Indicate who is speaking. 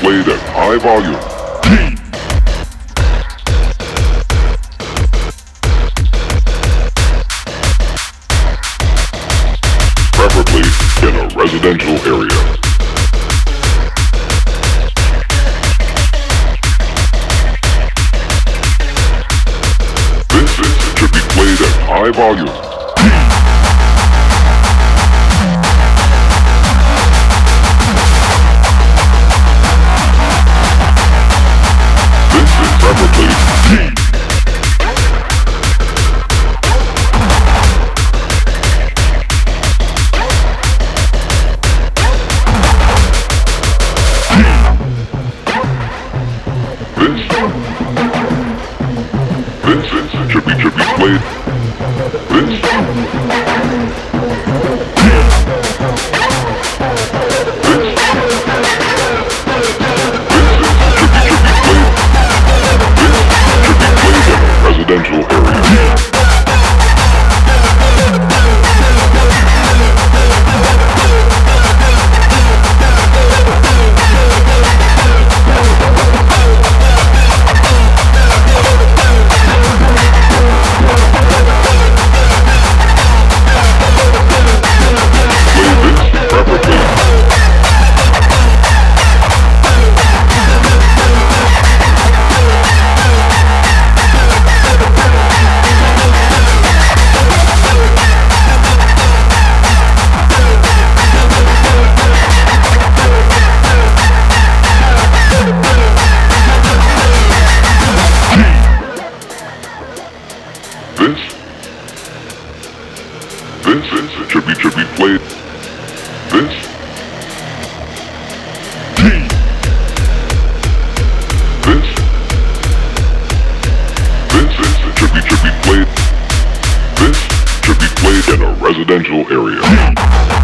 Speaker 1: played at high volume. Preferably in a residential area. This should be played at high volume. This is preferably Vincent should be played. Vincent residential area. Vincent should be played. Vincent should be played. Vincent should be played in a residential area.